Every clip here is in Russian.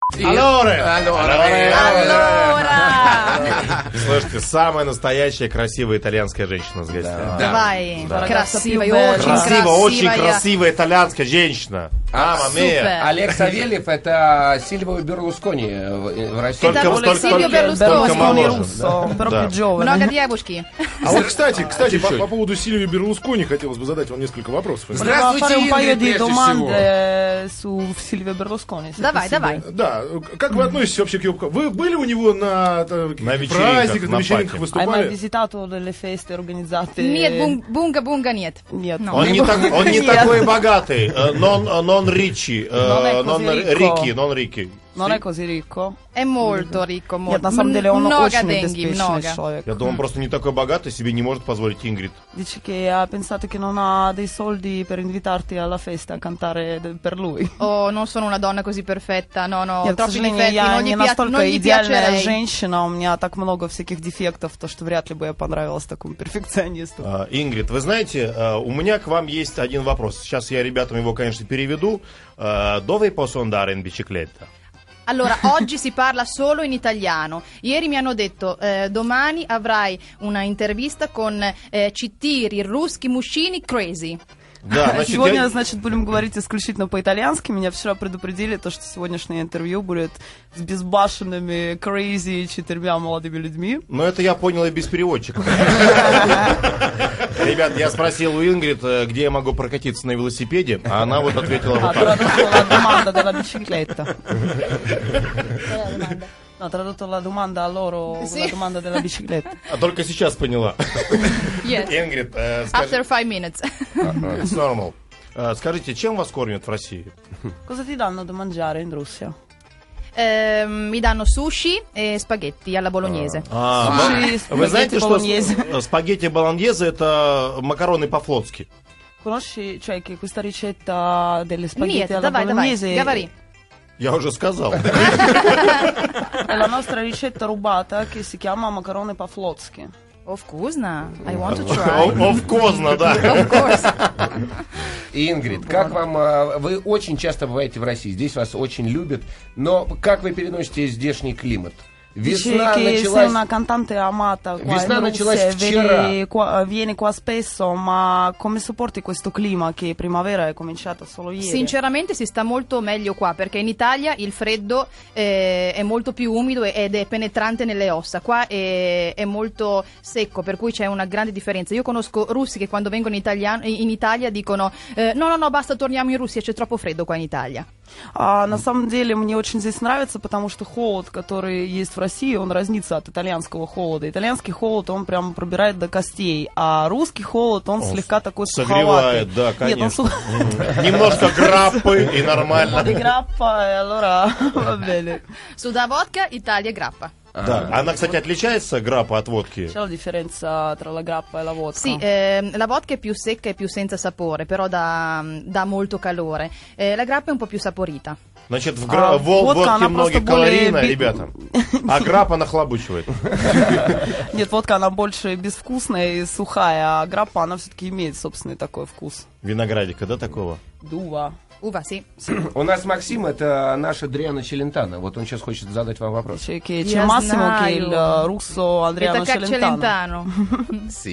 Allora. Слушайте, самая настоящая красивая итальянская женщина с гостями. Давай, Да. красивая, Очень красивая итальянская женщина. Мама мия. Олег Савельев — это Сильвио Берлускони в России. Сильвио Берлускони моложе. Много девушки. А вот, кстати, по поводу Сильвио Берлускони хотелось бы задать вам несколько вопросов. Здравствуйте, Ингрид, прежде всего. Давай. Да, как вы относитесь вообще к его... Вы были у него на праздниках, на вечеринках выступали? Нет, бунга нет. Нет. Он не такой богатый. Non ricci. Non è così ricco. È molto ricco, Нет, на самом деле он много очень деньги, обеспеченный много. человек. Я думаю, он просто не такой богатый, себе не может позволить Ингрид. Dice che ha pensato che non ha dei soldi per invitarti alla festa a cantare per lui. Oh, non sono una donna così perfetta, no, Нет, к troppi сожалению, difetti, я non не gli настолько идеальная piacerei. женщина, у меня так много всяких дефектов, то что вряд ли бы я понравилась такому перфекционисту. Ингрид, вы знаете, у меня к вам есть один вопрос. Сейчас я ребятам его, конечно, переведу. Dove posso andare in bicicletta? Allora, oggi si parla solo in italiano. Ieri mi hanno detto, domani avrai una intervista con Четыре русских мужчины crazy. Да, значит, Сегодня, будем говорить исключительно по-итальянски. Меня вчера предупредили, то, что сегодняшнее интервью будет с безбашенными, crazy 4 молодыми людьми. Ну, это я понял и без переводчика. Ребят, я спросил у Ингрид, где я могу прокатиться на велосипеде, а она вот ответила вот так. No, tradotto la domanda a loro, la domanda della bicicletta. А только сейчас поняла. Yes. Ингрид, After 5 minutes. It's normal. Скажите, чем вас кормят в России? Cosa ti danno da mangiare in Russia? Mi danno sushi e spaghetti alla bolognese. Вы знаете, что спагетти болоньезе это макароны по-флотски? Conosci, cioè, che questa ricetta delle spaghetti Нет, alla давай, bolognese говори. Я уже сказал. è la nostra ricetta rubata che si chiama macaroni по-флотски. Вкусно. I want to try. Вкусно, да. Of course. Ингрид, как вам... Вы очень часто бываете в России, здесь вас очень любят, но как вы переносите здешний климат? Весна началась... Una cantante amata qua Весна in началась Russia, вчера. vieni qua spesso, ma come sopporti questo clima che primavera è cominciata solo ieri? Sinceramente si sta molto meglio qua perché in Italia il freddo è molto più umido ed è penetrante nelle ossa. Qua è molto secco, per cui c'è una grande differenza. Io conosco russi che quando vengono in Italia dicono no, basta, torniamo in Russia, c'è troppo freddo qua in Italia. На самом деле мне очень здесь нравится, потому что холод, который есть в России, он разнится от итальянского холода. Итальянский холод, он прям пробирает до костей, а русский холод, он слегка такой суховатый. Согревает, да, конечно. Немножко граппы и нормально. Граппа, e allora va bene. Suda vodka, Italia grappa. Да. Она, кстати, отличается граппа от водки? C'è la differenza tra la grappa e la vodka? Sì, la vodka è più secca e più senza sapore, però dà molto calore. La grappa è un po' più saporita. Значит, в водке много калорийно, ребята, а граппа нахлобучивает. Нет, водка, она больше безвкусная и сухая, а граппа, она все-таки имеет собственный такой вкус. Виноградика, да, такого? Дува. Uva, sì. У нас Максим, это наша Адриано Челентано. Вот он сейчас хочет задать вам вопрос. C'è Massimo che è il russo Adriano Celentano. Sì.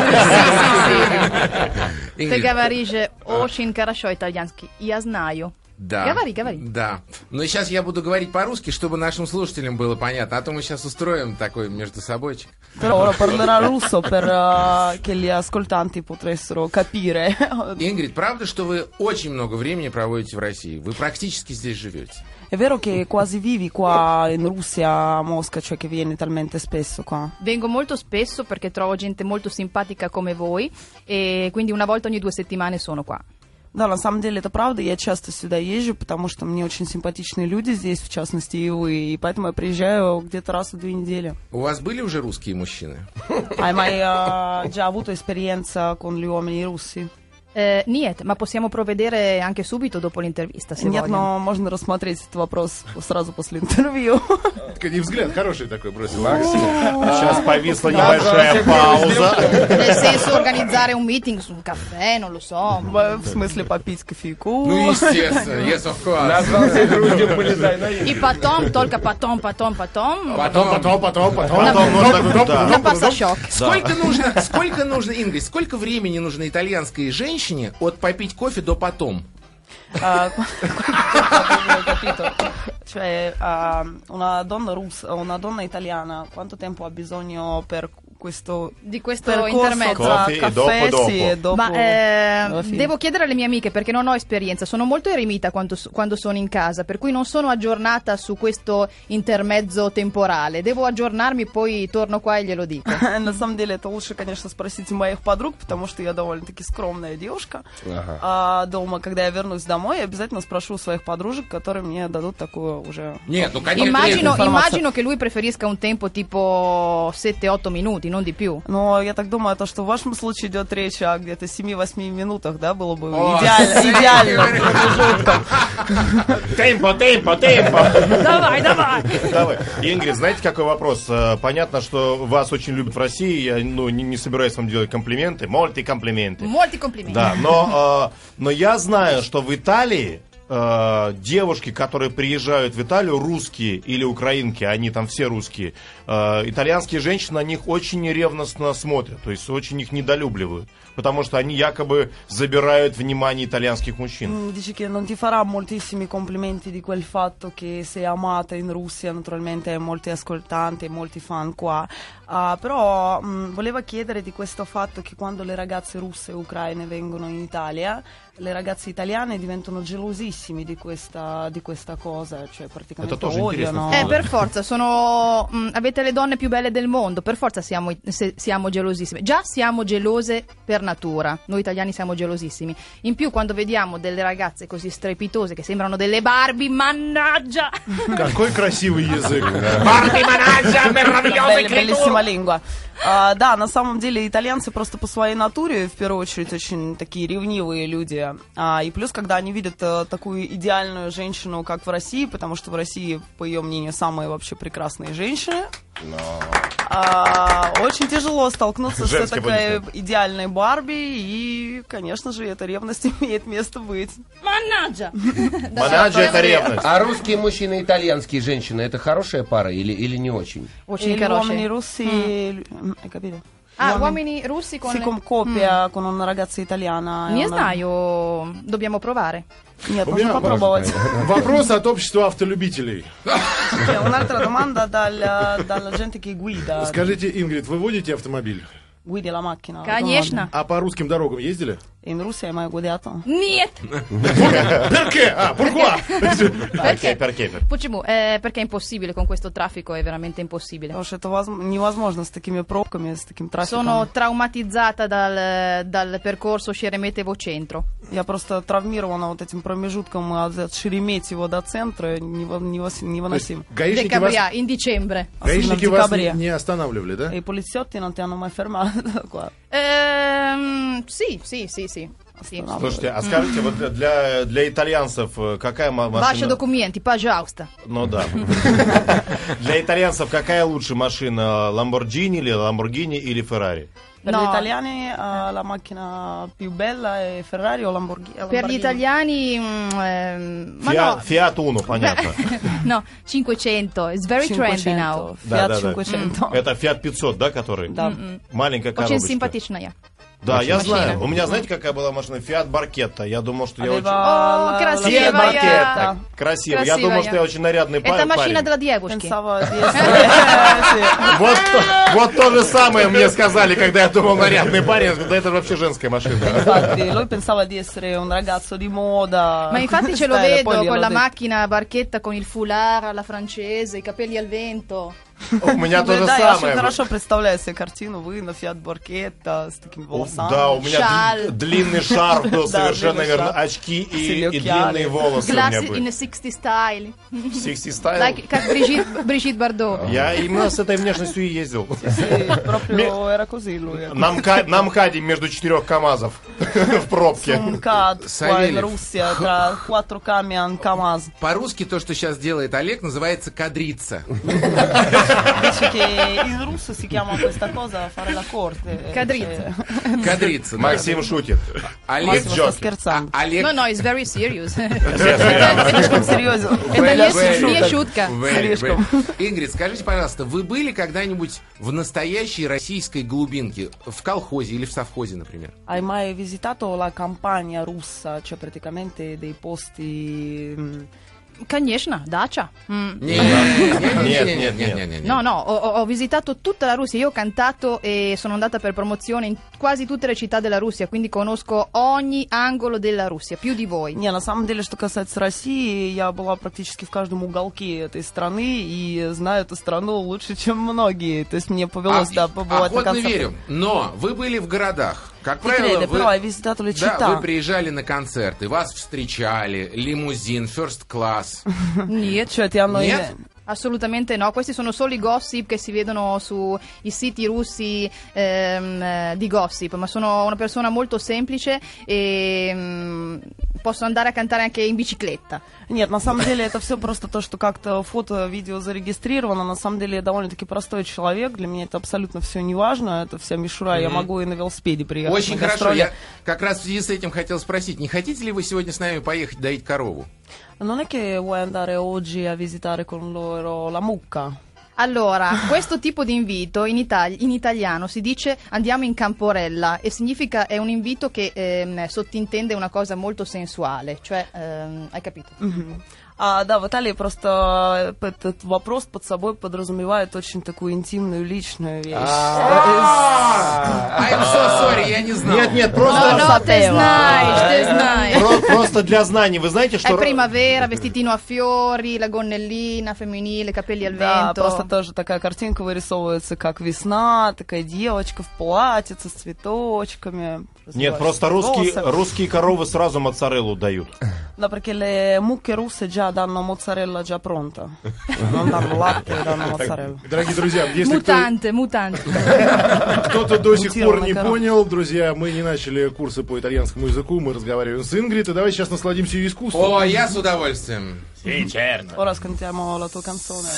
Ты говоришь очень хорошо итальянский. Я знаю. Да. Говори. Да. Но сейчас я буду говорить по-русски, чтобы нашим слушателям было понятно. А то мы сейчас устроим такой между собойчик. Però ora parlerà russo per che gli ascoltanti potessero capire. Ингрид, правда, что вы очень много времени проводите в России? Вы практически здесь живете? È vero che quasi vivi qua in Russia, a Mosca, cioè che vieni talmente spesso qua? Vengo molto spesso perché trovo gente molto simpatica come voi e quindi una volta ogni 2 settimane sono qua. Да, на самом деле это правда, я часто сюда езжу, потому что мне очень симпатичные люди здесь, в частности и вы, и поэтому я приезжаю где-то раз в 2 недели. У вас были уже русские мужчины? Hai mai già avuto esperienza con gli uomini russi? Нет, ma possiamo provvedere anche subito dopo l'intervista, se Нет, vogliono. но можно рассмотреть этот вопрос сразу после интервью. И взгляд хороший такой бросил. Сейчас повисла небольшая пауза. Nel senso, organizzare un meeting su un caffè, non lo so. В смысле попить кофейку. Ну, естественно, yes, of course. Назвался грудью, полезай на И потом, только потом. Потом. На пассажок. Сколько нужно, Ингрид, сколько времени нужно итальянской женщине от попить кофе до потом? Cioè, una donna italiana, quanto tempo ha bisogno per questo Di questo percorso intermezzo? tra Coffee e caffè dopo. sì, e dopo Ma alla fine. devo chiedere alle mie amiche perché non ho esperienza, sono molto eremita quando sono in casa, per cui non sono aggiornata su questo intermezzo temporale. Devo aggiornarmi, poi torno qua e glielo dico. На самом деле, это лучше, конечно, спросить у моих подруг, потому что я довольно-таки скромная девушка. А дома, когда я вернусь домой, я обязательно спрошу у своих подружек, которые мне дадут такую уже... Нет, ну конечно. Immagino che lui preferisca un tempo tipo 7-8 minuti, non di più. Но я так думаю, что в вашем случае идет речь о где-то 7-8 минутах, да, было бы идеально промежутком. Темпо. Давай. Давай. Ингрид, знаете, какой вопрос? Понятно, что вас очень любят в России. Я не собираюсь вам делать комплименты. Molti комплименты. Molti complimenti. Да, но я знаю, что в Италии девушки, которые приезжают в Италию, русские или украинки, они там все русские, итальянские женщины на них очень ревностно смотрят, то есть очень их недолюбливают, потому что они якобы забирают внимание итальянских мужчин. Dici che non ti farà moltissimi complimenti di quel fatto che sei amata in Russia, naturalmente hai molti ascoltanti e molti fan qua, però voleva chiedere di questo fatto che quando le ragazze russe e ucraine vengono in Italia, le ragazze italiane diventano gelosissimi di questa cosa, cioè praticamente odiano. Per forza, avete le donne più belle del mondo, per forza siamo gelosissime. Già siamo gelose per natura, noi italiani siamo gelosissimi. In più quando vediamo delle ragazze così strepitose che sembrano delle Barbie, mannaggia! Какой красивый язык. Барби, манажа, meravigliosa Bellissima lingua. Да, на самом деле итальянцы просто по своей натуре, в первую очередь, очень такие ревнивые люди. И плюс, когда они видят такую идеальную женщину, как в России, потому что в России, по ее мнению, самые вообще прекрасные женщины, очень тяжело столкнуться с такой идеальной Барби, и, конечно же, эта ревность имеет место быть. Mannaggia! Манажа — это ревность. А русские мужчины и итальянские женщины — это хорошая пара или не очень? Очень Gli uomini russi, hai capito? Uomini russi con Si coppia con una ragazza italiana. Не знаю, dobbiamo provare. Нет, нужно попробовать. Вопрос от общества автолюбителей. Un'altra domanda dalla gente che guida. Скажите, Ингрид, вы водите автомобиль? Guidi la macchina? Конечно. А по русским дорогам ездили? In Russia hai mai guidato? Нет! Perché? Pourquoi? Perché? Почему? Perché è impossibile, con questo traffico è veramente impossibile. Потому что это невозможно с такими пробками, с таким трафиком. Sono traumatizzata dal percorso Sheremetyevo centro. Я просто травмирована вот этим промежутком от Шереметьево до центра, невыносим. Гаишники вас, in dicembre. гаишники в вас декабре. не останавливали, да? И poliziotti non ti hanno mai fermato qua. Sì. Слушайте, а скажите, вот для итальянцев какая машина... Ваши документы, пожалуйста. Ну да. Для итальянцев какая лучше машина? Lamborghini или Ferrari? Per gli italiani la macchina più bella è Ferrari o Lamborghini? Per gli italiani Fiat Uno, понятно. No, 500. It's very trendy now. Fiat 500. Это Fiat 500, да, который? Да. Маленькая Очень коробочка. симпатичная. Да, я машина. знаю. У меня, знаете, какая была машина? Fiat Barchetta. Я думал, что я очень... О, красивая. Fiat Barchetta. Красиво. Я думал, что я очень нарядный Это машина парень. для девушки. Pensavo di essere... Вот то же самое мне сказали, когда я думал нарядный парень. Да это вообще женская машина. Infatti, lui pensava di essere un ragazzo di moda. Ma infatti ce lo Style, vedo poi con glielo la detto. macchina Barchetta con il foulard alla francese, i capelli al vento. У меня то же Да, я очень самое. хорошо представляю себе картину. Вы на Фиат Баркетта с такими волосами. Да, у меня Шаль. длинный шарф был совершенно длинный верно. шарф. Очки и Селёкяли. длинные волосы у меня Glasses были. in a 60 style. 60 стайл. Like, как Брижит Бардо. Я именно с этой внешностью и ездил. Sì, proprio era così lui. На МКАДе между 4 КАМАЗов в пробке. Un CAD qua in Савельев. Russia tra 4 camion Kamaz. По-русски то, что сейчас делает Олег, называется кадрица. Dice che in russo si chiama questa cosa fare la corte. Кадрица. Кадрица. да. Максим шутит. Олег, Massimo sta scherzando. Олег, No, it's very serious. Слишком серьезно. Это не шутка. Слишком. Ингрид, скажите, пожалуйста, вы были когда-нибудь в настоящей российской глубинке? В колхозе или в совхозе, например? Hai mai visitato la campagna russa, cioè praticamente dei posti... Конечно, дача. Нет. No, no, ho visitato tutta la Russia, io ho cantato e sono andata per promozione in quasi tutte le città della Russia, quindi conosco ogni angolo della Russia, più di voi. Не, на самом деле, что касается России, я была практически в каждом уголке этой страны и знаю эту страну лучше, чем многие. То есть мне повелось, да, побывать на Охотно концертах. верю, но вы были в городах. Как Ti правило, crede, però hai visitato le да, città. вы приезжали на концерты, вас встречали, лимузин, first class. Нет, Cioè ti hanno... Нет? assolutamente no, questi sono solo i gossip che si vedono sui siti russi di gossip, ma sono una persona molto semplice e posso andare a cantare anche in bicicletta. Нет, на самом деле это все просто то, что как-то фото, видео зарегистрировано. На самом деле я довольно-таки простой человек. Для меня это абсолютно все не важно. Это вся мишура. Я могу и на велосипеде приехать. Очень на хорошо, гастроли. я как раз в связи с этим хотел спросить, не хотите ли вы сегодня с нами поехать доить корову? Non è che vuoi andare oggi a visitare con loro la mucca? Allora, questo tipo di invito in italiano si dice andiamo in camporella e significa è un invito che sottintende una cosa molto sensuale, cioè hai capito? Да, в Италии просто этот вопрос под собой подразумевает очень такую интимную, личную вещь. I'm so sorry, я не знал. Нет, No, te знаешь. Просто для знаний. Вы знаете, È что... primavera, vestitino a fiori, la gonnellina femminile, capelli al Да, vento. просто тоже такая картинка вырисовывается, как весна, такая девочка в платьице с цветочками. Нет, просто волосы. русские коровы сразу моцареллу дают. Да, perché le mucche russe già danno mozzarella già pronta. Non danno latte, danno mozzarella. Дорогие друзья, если Мутанты. кто-то до сих пор не Мутированная корова. понял, друзья, мы не начали курсы по итальянскому языку, мы разговариваем с Ингрид, и давайте сейчас насладимся ее искусством. О, я с удовольствием. Ora ascoltiamo la tua canzone.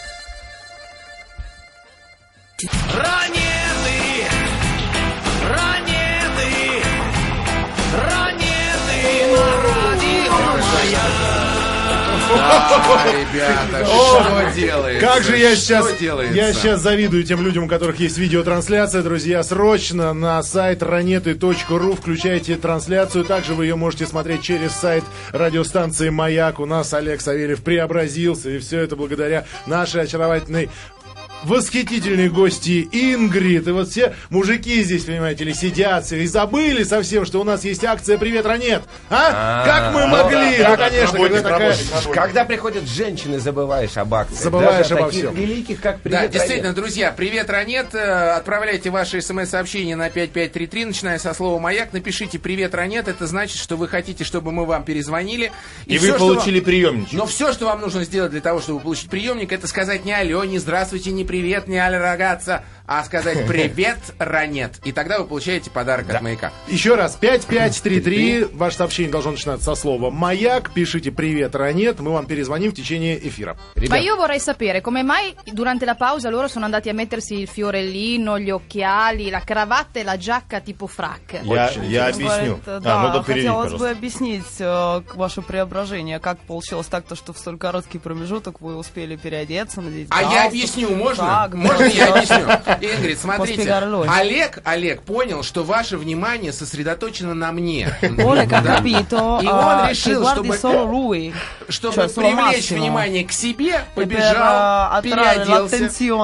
Ребята, что делается? Как же я Что сейчас, делается? я сейчас завидую тем людям, у которых есть видеотрансляция. Друзья, срочно на сайт ранеты.ру включайте трансляцию. Также вы ее можете смотреть через сайт радиостанции «Маяк». У нас Олег Савельев преобразился, и все это благодаря нашей очаровательной, восхитительные гости Ингрид. И вот все мужики здесь, понимаете ли, сидят и забыли совсем, что у нас есть акция «Привет, Ранет». Как мы могли? Ну, конечно, когда такая... Когда приходят женщины, забываешь об акции. Забываешь Даже обо таких всем. великих, как Да, «Привет, действительно, Ранет». друзья, привет, Ранет. Отправляйте ваши смс-сообщения на 5533, начиная со слова «Маяк». Напишите «Привет, Ранет». Это значит, что вы хотите, чтобы мы вам перезвонили. И всё, вы что получили приемничек. Но все, что вам нужно сделать для того, чтобы получить приемник, это сказать не алло, не здравствуйте, не привет, не алло, рогатца, а сказать привет, Ранет. И тогда вы получаете подарок от «Маяка». Еще раз, 5533, ваше сообщение должно начинаться со слова «Маяк», пишите «Привет, Ранет», мы вам перезвоним в tечение эфира. Ma io vorrei sapere come mai durante la pausa loro sono andati a mettersi il fiorellino, gli occhiali, la cravatta e la giacca tipo frac. Я объясню. Говорит, Ну да, перейди, хотелось бы пожалуйста. объяснить ваше преображение. Как получилось так-то, что в столь короткий промежуток вы успели переодеться, надеть А я галстук, объясню, можно? шаг, Можно я объясню? Ингрид, смотрите, Олег понял, что ваше внимание сосредоточено на мне. Олег capito, И он решил, чтобы привлечь внимание к себе, побежал, переоделся.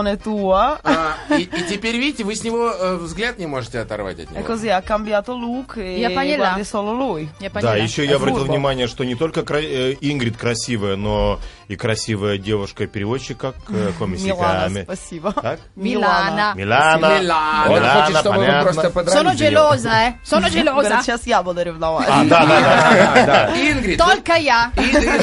И теперь, видите, вы с него взгляд не можете оторвать от E него. così ha cambiato look e поняла. guardi solo lui. Да, еще я обратил внимание, что не только Ингрид красивая, но и красивая девушка-переводчик, как Милана, спасибо. Так? Milana. Милана. Он хочет, чтобы вы понятно. просто подрались Sono за него. gelosa, sono gelosa. Говорят, сейчас я буду ревновать. Да. Ингрид, Только я.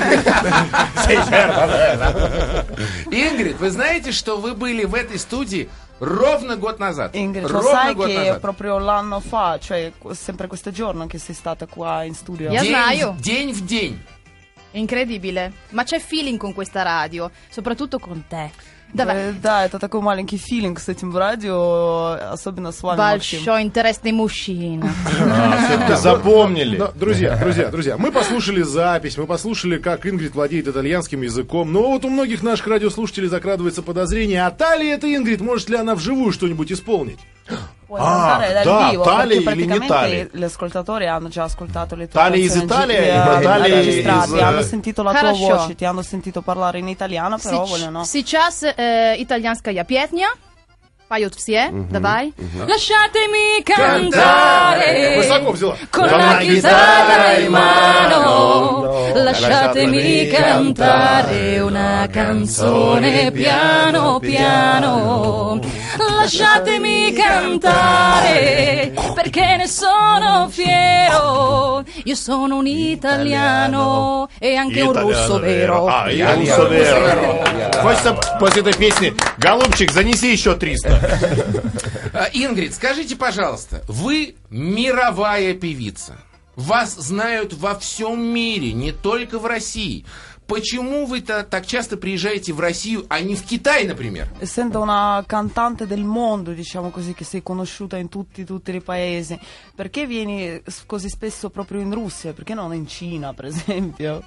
Ингрид, вы знаете, что вы были в этой студии ровно год назад? Ingrid, lo Ровно sai год che назад. proprio l'anno fa, cioè sempre questo giorno che sei stata qua in studio? Я знаю. День в день. Incredibile. Ma c'è feeling con questa radio, soprattutto con te. Давай. Да, это такой маленький филинг с этим радио, особенно с вами, Максим. Большой интересный мужчина. Все-таки запомнили. Но, друзья, мы послушали запись, мы послушали, как Ингрид владеет итальянским языком, но вот у многих наших радиослушателей закрадывается подозрение, а та ли это Ингрид, может ли она вживую что-нибудь исполнить? Puoi andare dal да, vivo, Тали perché или не praticamente Тали? gli ascoltatori hanno già ascoltato le tue Tali из canzoni Italia, Tali registrate, из- hanno sentito la tua Хорошо. voce, ti hanno sentito parlare in italiano, però vogliono... Сейчас итальянская песня. Поют все. Давай. Lasciatemi cantare. Высоко взяла. Con la chitarra in mano, lasciatemi cantare una canzone piano piano. Lasciatemi cantare perché ne sono fiero. Io sono un italiano e anche un russo vero. И руссо веро. Хочется после этой песни: голубчик, занеси еще 300. Ингрид, скажите, пожалуйста, вы мировая певица. Вас знают во всем мире, не только в России. Почему вы так часто приезжаете в Россию, а не в Китай, например? Essendo una cantante del mondo, diciamo così, che sei conosciuta in tutti i paesi, perché vieni così spesso proprio in Russia? Perché non in Cina, per esempio?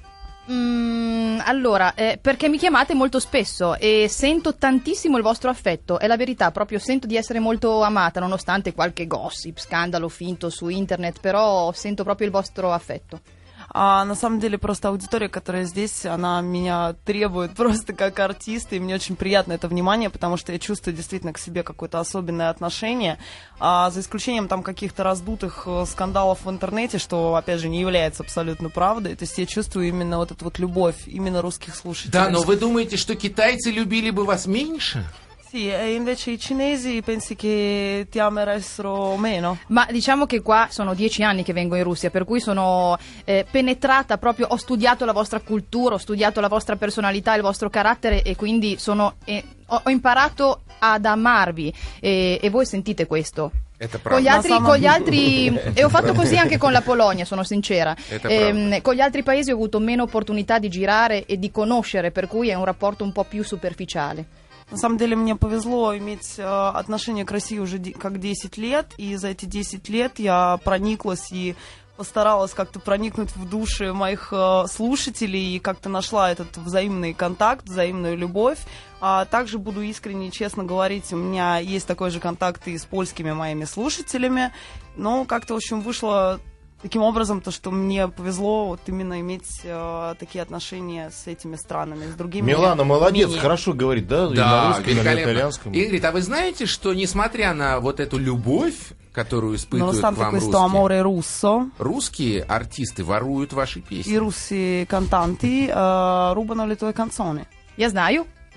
Allora, perché mi chiamate molto spesso e sento tantissimo il vostro affetto, è la verità, proprio sento di essere molto amata, nonostante qualche gossip, scandalo finto su internet, però sento proprio il vostro affetto. А на самом деле просто аудитория, которая здесь, она меня требует просто как артиста, и мне очень приятно это внимание, потому что я чувствую действительно к себе какое-то особенное отношение, за исключением там каких-то раздутых скандалов в интернете, что, опять же, не является абсолютно правдой, то есть я чувствую именно вот эту вот любовь, именно русских слушателей. Да, но вы думаете, что китайцы любили бы вас меньше? Sì, e invece i cinesi pensi che ti amerebbero meno? Ma diciamo che qua sono 10 anni che vengo in Russia, per cui sono penetrata proprio, ho studiato la vostra cultura, ho studiato la vostra personalità, il vostro carattere e quindi ho imparato ad amarvi e voi sentite questo. Con gli altri e ho fatto così anche con la Polonia, sono sincera. Con gli altri paesi ho avuto meno opportunità di girare e di conoscere, per cui è un rapporto un po' più superficiale. На самом деле мне повезло иметь отношение к России уже как 10 лет, и за эти 10 лет я прониклась и постаралась как-то проникнуть в души моих слушателей и как-то нашла этот взаимный контакт, взаимную любовь. А также буду искренне и честно говорить, у меня есть такой же контакт и с польскими моими слушателями, но как-то, в общем, вышло таким образом, то, что мне повезло вот именно иметь такие отношения с этими странами, с другими. Милана молодец, менее. Хорошо говорит, да? И на Да, русском, и на великолепно. итальянском. Ингрид, а вы знаете, что несмотря на вот эту любовь, которую испытывают Nonostante вам questo amore russo, русские артисты воруют ваши i песни? russi cantanti rubano le tue canzoni. Я знаю. И...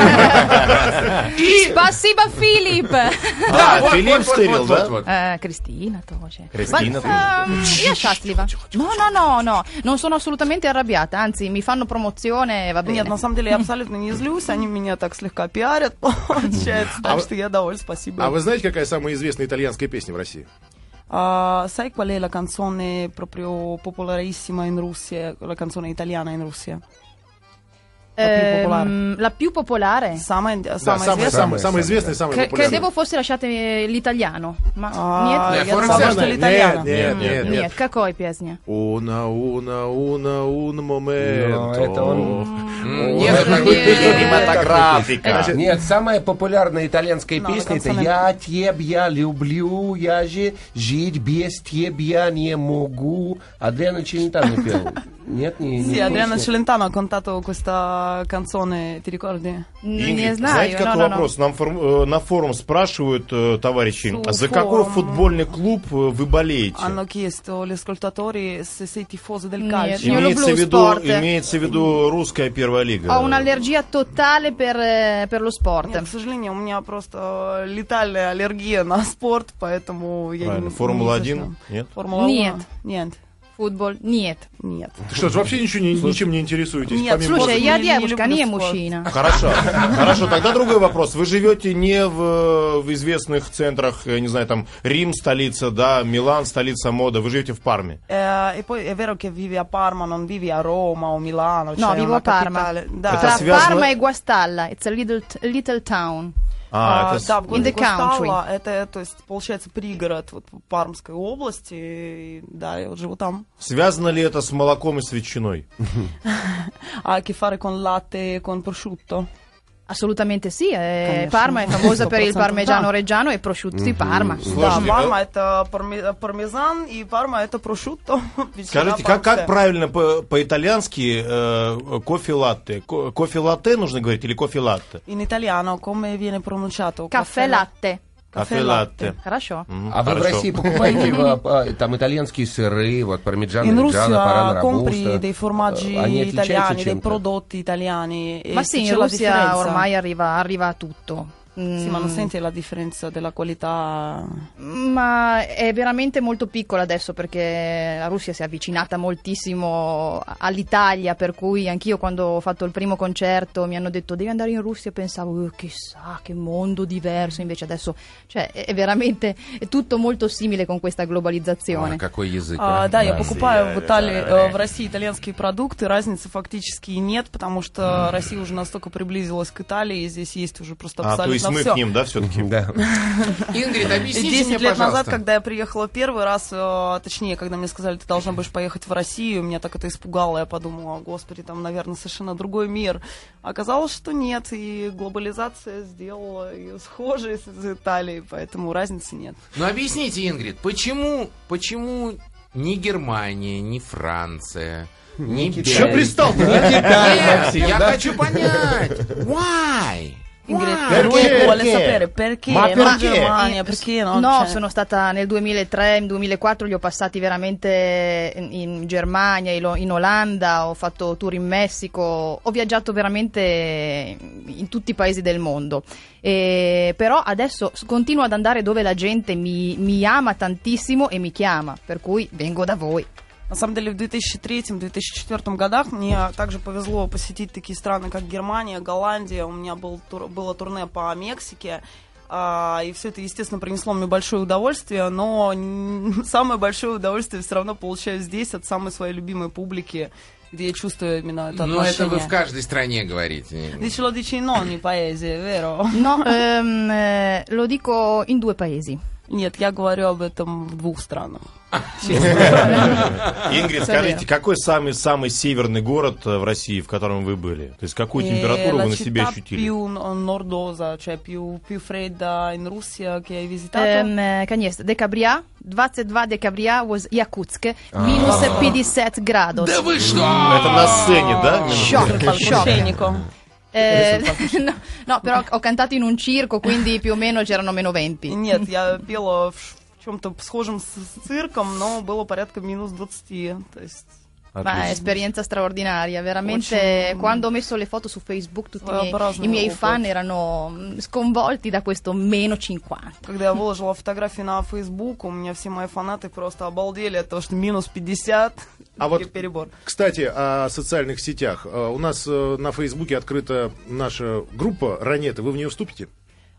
Спасибо, Филипп. Да, вот, Филипп вот, стырил, вот, да? вот, вот. Cristina тоже. Cristina Io счастлива. No, non sono assolutamente arrabbiata, anzi mi fanno promozione, va bene. Нет, на самом деле я абсолютно не злюсь, они меня так слегка пиарят, получается, так что я довольна, спасибо. А вы знаете, какая самая известная итальянская песня в России? Sai qual è la canzone proprio popolarissima in Russia, la canzone italiana in Russia? La più popolare? Самая Да, известная. самый известный, самый популярный. Credevo fosse lasciate l'italiano. Ma Я нет? думала, что l'italiano. Нет, какой песня? Un momento. это он. Нет, Кинематографика. Нет, самая популярная итальянская No, песня это canzone- «Я тебя люблю, я же жить без тебя не могу». Адриано Челентано пел. Нет, не Sì, Adriano песня. Celentano ha cantato questa canzone, ti ricordi? Не Ингрид, знаю. знаете, какой no. вопрос? Нам на форум спрашивают товарищи, Su за какой forum. футбольный клуб вы болеете? Hanno chiesto gli ascoltatori se sei tifoso del Нет. calcio. Io lo Имеется blu в виду, sport. имеется в виду русская первая лига. Ho un'allergia totale per lo sport. Нет, к сожалению, у меня просто летальная аллергия на спорт, поэтому я Правильно. не... Формула-1? не Нет? Формула-1? Нет. Нет. Football? Нет. Нет. Что ж, вообще ничем не интересуетесь? Нет, помимо Слушай, Спорт я не девушка, люблю не спорт. мужчина. Хорошо, хорошо, тогда другой вопрос. Вы живете не в известных центрах, я не знаю, там Рим, столица, да, Милан, stолица моды, вы живете в Парме. E poi è vero che vivi a Parma, non vivi a Roma o Milano. No, cioè vivo una a Parma. capitale. Да. Это Tra связано- Parma e Guastalla. It's a little town. Это Да, в городе In the country. Госталла, это, то есть, получается, пригород вот, Пармской области, и, да, я вот живу там. связано ли это с молоком и с ветчиной? Ha a che fare con latte e con prosciutto? Assolutamente sì. Конечно. Parma è famosa per il 100% parmigiano да. reggiano e prosciutto di Parma. Да, Слушайте, Парма это пармезан, и Парма это прошутто. Скажите, как правильно по-итальянски кофе-латте? Кофе-латте нужно говорить или кофе-латте? In italiano come viene pronunciato? Caffè latte. Кофе-латте. Хорошо. А вы в Хорошо. России покупаете там итальянские сыры, вот пармиджано, In регgiano, Russia парано, compri робусто. dei formaggi Они отличаются italiani, dei чем-то? prodotti italiani. E Ma se sì, in c'è la Russia differenza. ormai arriva tutto. Sì, ma non senti la differenza della qualità? Ma è veramente molto piccola adesso perché la Russia si è avvicinata moltissimo all'Italia, per cui anch'io quando ho fatto il primo concerto mi hanno detto devi andare in Russia e pensavo chissà che mondo diverso, invece adesso cioè, è veramente è tutto molto simile con questa globalizzazione. Какой язык. Да, я покупаю в Италии, в России итальянские продукты, разницы фактически и нет, потому что Россия уже настолько приблизилась к Италии, и здесь есть уже просто А, то есть абсолютно мы все. к ним, да, все-таки? Да. Ингрид, объясните 10 мне, лет назад, пожалуйста. когда я приехала первый раз, точнее, когда мне сказали, ты должна будешь поехать в Россию, меня так это испугало, я подумала, господи, там, наверное, совершенно другой мир. Оказалось, что нет, и глобализация сделала ее схожей с Италией, поэтому разницы нет. Ну объясните, Ингрид, почему ни Германия, ни Франция, ни Че Бельгия? пристал? Нет, я хочу понять. Why? Ingrid, lui vuole sapere perché, Ma non perché? Germania, perché non No, cioè- sono stata nel 2003, nel 2004 li ho passati veramente in Germania, in Olanda, ho fatto tour in Messico, ho viaggiato veramente in tutti i paesi del mondo. Però adesso continuo ad andare dove la gente mi ama tantissimo e mi chiama, per cui vengo da voi. На самом деле в 2003-2004 годах мне также повезло посетить такие страны, как Германия, Голландия. У меня было турне по Мексике. И все это, естественно, принесло мне большое удовольствие, но самое большое удовольствие все равно получаю здесь от самой своей любимой публики, где я чувствую именно это Ну, это отношение. вы в каждой стране говорите. Dici lo dici in ogni paese, vero? No, lo dico in 2 paesi. Нет, я говорю об этом в 2 странах. Ингрид, скажите, какой самый северный город в России, в котором вы были? То есть какую температуру вы на себе La città ощутили? più nordosa, cioè più fredda in Russia che hai visitato? Конечно, Декабря, 22 декабря was Якутск, минус 50 градус. Да вы что? Это на сцене, да? Shock, shock. Palcoscenico. No, però ho cantato in un circo, quindi più o meno c'erano meno 20. Нет, я пела в чем-то схожем с цирком, но было порядка минус 20. То есть Ma è esperienza straordinaria, veramente. Очень- Quando ho messo le foto su Facebook, tutti Своеобразный i miei опыт. fan erano sconvolti da questo meno 50. когда я выложила фотографии на Facebook, у меня все мои фанаты просто обалдели от того, что минус 50. А вот, перебор. кстати, о социальных сетях. У нас на Фейсбуке открыта наша группа «Ранеты». Вы в нее вступите?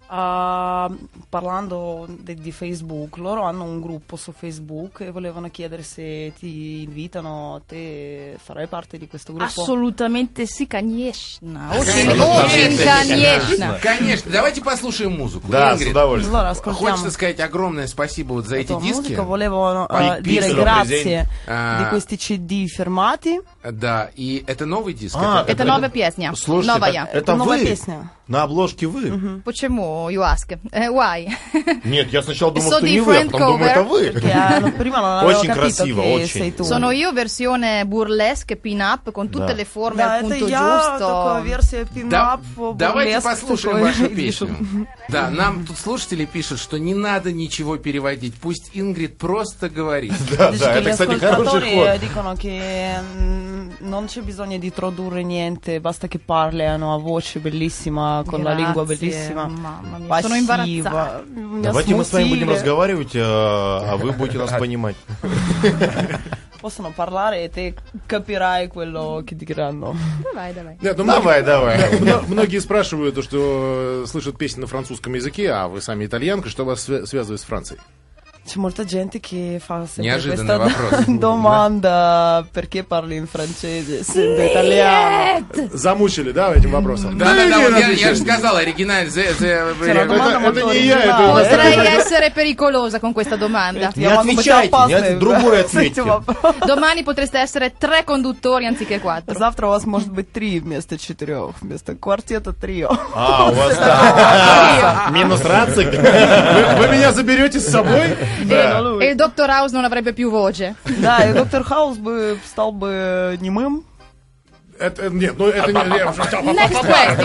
Parlando di Facebook, loro hanno un gruppo su Facebook e volevano chiedere se ti invitano, te farai parte di questo gruppo? Assolutamente sì, конечно. Очень, конечно. Конечно. Давайте послушаем музыку. Да, с Ингрид, удовольствием. Allora, ascoltiamo хочется сказать огромное спасибо вот за эти la диски. musica, volevo Poi dire piccolo grazie Ah. di questi CD firmati. Да, и это новый диск. Это новая песня. Слушайте, Новая. это Новая вы? песня. На обложке вы? Почему, you ask? Why? Нет, я сначала думал, So что не вы, а different потом думаю, это вы. Che prima non avevo Очень capito красиво, che очень. sei tu. Sono io versione burlesque pin-up con tutte Да. le forme Да, al это punto я, такая giusto. версия Да, пин-ап, давайте бурлеск послушаем такой. вашу песню. Да, нам тут слушатели пишут, что не надо ничего переводить. Пусть Ингрид просто говорит. Да, Dice да, che это, gli кстати, хороший ascoltatori ход. dicono che non c'è bisogno di tradurre niente, basta che parli, hanno una voce bellissima, con la lingua bellissima, Mamma mia, sono passiva. imbarazzata. Давайте мы с вами будем Smutile. разговаривать, а вы будете нас понимать. Possono parlare e te capirai quello che diranno. Давай, давай. Нет, ну, Давай, давай. Многие спрашивают, что слышат песни на французском языке, а вы сами итальянка, что вас связывает с Францией? C'è molta gente che fa sempre Неожиданный questa вопрос. domanda: perché parli in francese essendo italiano? Замучили, да, этим вопросом? Да, вот я же сказал, оригинал. C'è una domanda molto это не я, это- originale. Potrei essere pericolosa con questa domanda. Не отвечайте, другой ответьте. Domani potreste essere 3 conduttori anziché 4. Завтра у вас может быть 3 вместо 4, вместо квартета трио. А, у вас так. Минус рацик. Вы меня заберете с собой? E il Dr. House non avrebbe più voce. Да, и доктор Хаус бы стал бы немым. Нет, ну это не... Next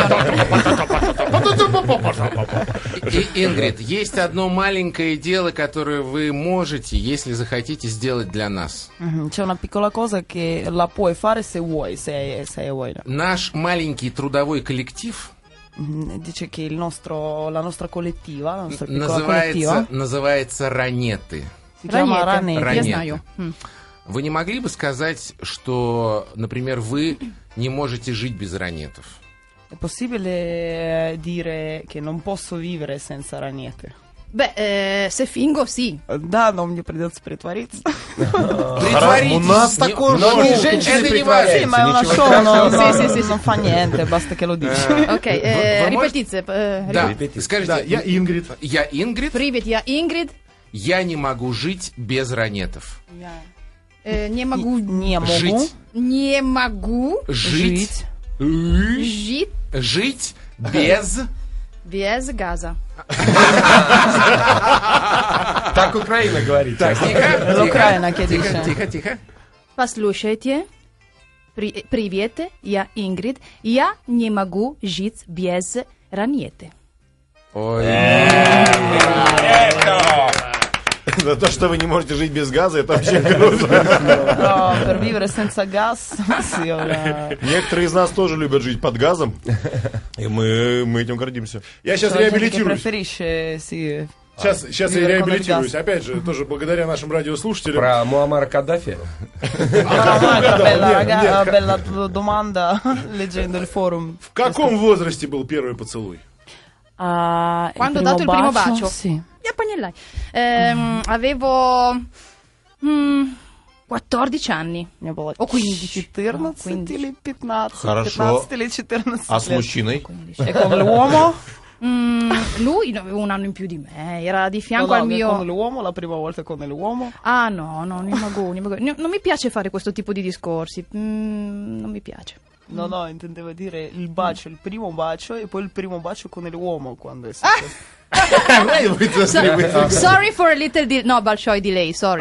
question. Ингрид, есть одно маленькое дело, которое вы можете, если захотите, сделать для нас. C'è una piccola cosa che la puoi fare se vuoi, se vuoi. Наш маленький трудовой коллектив Dice che la nostra collettiva, la nostra piccola collettiva, называется «Ранеты». si chiama Ранеты. Ранеты. Я знаю. Вы не могли бы сказать, что, например, вы не можете жить без ранетов? È possibile dire che non posso vivere senza Ранеты? Beh, se fingo, sì. Да, но мне придется притвориться. Притворитесь. У нас такое Но шоу. не женщины Это не притворяются, Sì, ma è una ничего show, страшного. Sì, sì. non fa niente, basta che lo dici. Ok, Вы ripetite. Да, скажите, Да, я Ингрид. я Ингрид, Привет, я Ингрид. я не могу жить без ранетов. Не могу... Не могу Жить. Не могу Жить. жить Жить без... без газа. Так Украина говорит. Так, тихо, L'Ucraina che тихо, dice. тихо, тихо. Послушайте. Привет, я Ингрид. Я не могу жить без ранеты. Ой. За то, что вы не можете жить без газа, это вообще круто. No, per vivere senza gas, sì, Некоторые из нас тоже любят жить под газом, и мы этим гордимся. Я сейчас c'è gente che реабилитируюсь. preferisce, sì. Сейчас я Вивер реабилитируюсь. Коннегас. Опять же, тоже благодаря нашим радиослушателям. Про Муаммара Каддафи. Bella domanda leggendo il forum. В каком возрасте был первый поцелуй? Quando ho dato il primo bacio? Sì. Я поняла. Avevo 14 anni. Мне было О, 15. 14 15. или 15. Хорошо. 15 или 14 А с лет. мужчиной? E con l'uomo? Lui aveva un anno in più di me, era di No, fianco no, al mio... con l'uomo, la prima volta con l'uomo. Ah no, non mi piace fare questo tipo di discorsi, non mi piace. No, intendeva dire il bacio, il primo bacio e poi il primo bacio con l'uomo quando è successo. Sorry for a little no, большой delay, sorry.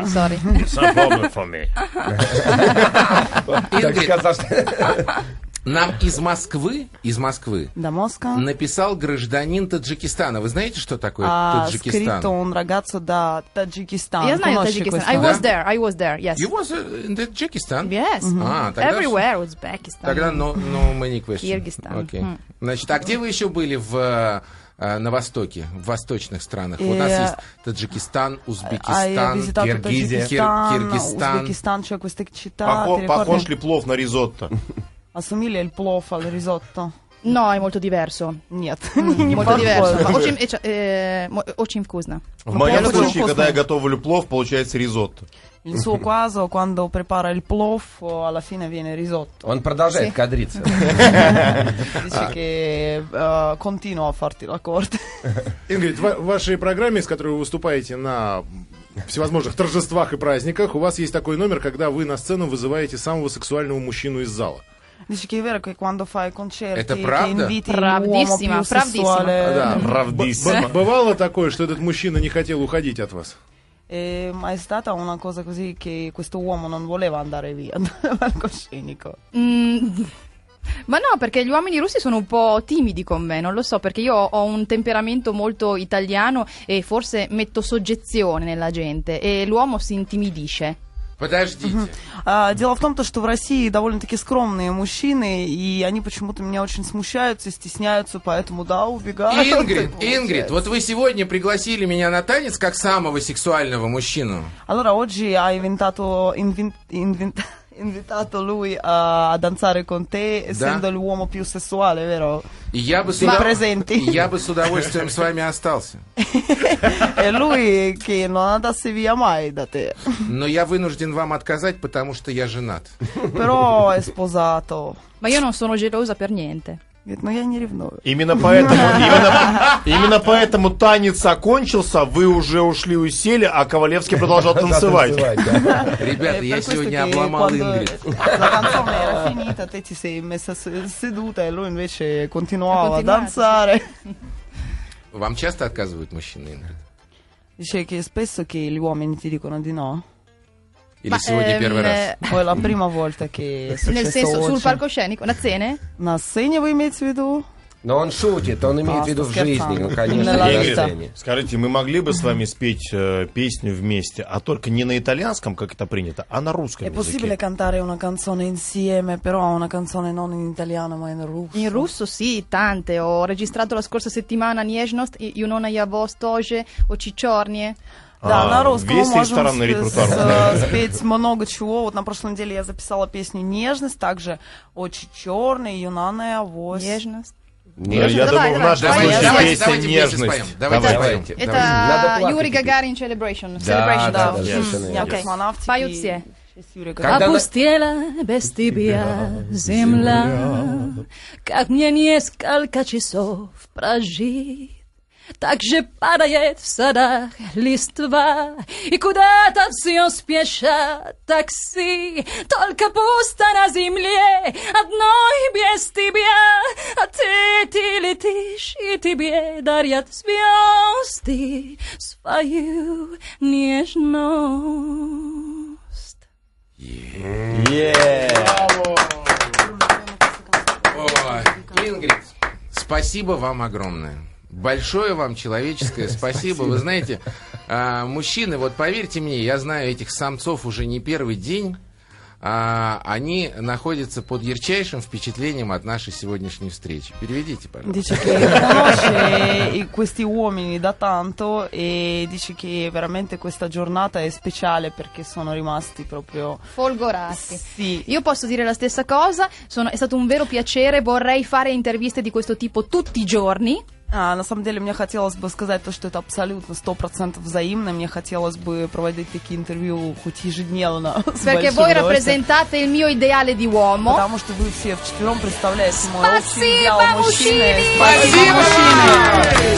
Так сказал, что- Нам из Москвы Da Mosca написал гражданин Таджикистана. Вы знаете, что такое ha Таджикистан? scritto un ragazzo da Tagikistan. Я знаю Conosci Tajikistan. questo? I was there, yes. You was in Таджикистан? Yes. А, тогда Everywhere, Uzbekistan. Тогда no many questions. Киргизстан. Окей. Значит, а где вы еще были на Востоке, в восточных странах? У нас есть Таджикистан, Hai Узбекистан, visitato Kirghizia. Tagikistan, Uzbekistan, cioè queste città, ti Похож ricordi? ли плов на ризотто? Assomiglia il plov al risotto? No, è molto diverso. Нет, Molto diverso. Ma очень вкусно. В моем случае, когда я готовлю плов, получается ризотто. Il suo caso, quando prepara il plov, alla fine viene risotto. Он продолжает кадриться. Dice che continua a farti la corte. Ингрид, в вашей программе, с которой вы выступаете на всевозможных торжествах и праздниках, у вас есть такой номер, когда вы на сцену вызываете самого сексуального мужчину из зала. Dice che è vero che quando fai concerti Это che правда? inviti l'uomo più sessuale. Да. Правдиссимо. Бывало такое, что этот мужчина не хотел уходить от вас? Ma è stata una cosa così che questo uomo non voleva andare via dal palcoscenico. Ma no, perché gli uomini russi sono un po' timidi con me, non lo so, perché io ho un temperamento molto italiano e forse metto soggezione nella gente e l'uomo si intimidisce. Подождите. Дело в том, что в России довольно-таки скромные мужчины, и они почему-то меня очень смущаются и стесняются, поэтому, да, убегают. Ингрид, вот вы сегодня пригласили меня на танец как самого сексуального мужчину. Allora, oggi hai invitato lui a danzare con te, essendo l'uomo più sessuale, vero? Я бы с удовольствием с вами остался. E lui che non andasse via mai da te. Но я вынужден вам отказать, потому что я женат. Però è sposato. Ma io non sono gelosa per niente. Говорит, ну я не ревную. Именно поэтому танец окончился, вы уже ушли и сели, а Ковалевский продолжал танцевать. Ребята, я сегодня обломал Ингрид. La canzone era finita, te ti sei messa seduta e lui invece continuava a danzare. Вам часто отказывают мужчины, Ингрид? Dice che spesso che gli uomini ti dicono di no. Или сегодня первый раз? Poi è la prima volta che è Nel successo senso, sul oggi. palcoscenico, на сцене? На сцене вы имеете в виду? Но он шутит, он имеет в виду в жизни, ну, конечно, Нella на vita. сцене. Скажите, мы могли бы с вами спеть песню вместе, а только не на итальянском, как это принято, а на русском È possibile языке? cantare una canzone insieme, però una canzone non in italiano ma in russo? In russo sì, tante. Ho registrato la scorsa settimana Nежность, Юнона Явостоже, Очичорnie. Да, на русском мы весь можем ресторанный репертуар. спеть много чего. Вот на прошлой неделе я записала песню «Нежность», также «Очень черный», «Юнана Авось». Нежность. Я Давай, думаю, в давай. нашем Давайте, случае давайте, песня давайте вместе «Нежность». споем. Давайте Давайте. споем. Надо Это плакать Юрий теперь. Гагарин Celebration. Да, да, да. совершенно верно. Окей. Космонавтики. Поют все. Сейчас Юрий Когда Гагарин. Опустела без тебя земля, как мне несколько часов прожить. Так же падает в садах листва, и куда-то все спешат такси. Только пусто на земле, одной без тебя, а ты летишь, и тебе дарят звезды свою нежность. Ой, Ингрид, спасибо вам огромное. Большое вам человеческое спасибо. Вы знаете, мужчины, вот поверьте мне, я знаю этих самцов уже не первый день. Они находятся под ярчайшим впечатлением от нашей сегодняшней встречи. Переведите, пожалуйста. Dice che conosce questi uomini da tanto e dice che veramente questa giornata è speciale perché sono rimasti proprio Folgorati. Sì. Io posso dire la stessa cosa, è stato un vero piacere, vorrei fare interviste di questo tipo tutti i giorni. На самом деле, мне хотелось бы сказать то, что это абсолютно 100% взаимно. Мне хотелось бы проводить такие интервью хоть ежедневно. Perché voi rappresentate il mio ideale di uomo. Потому что вы все вчетвером представляете мой общий идеал Спасибо, мужчины. мужчины! Спасибо, мужчины!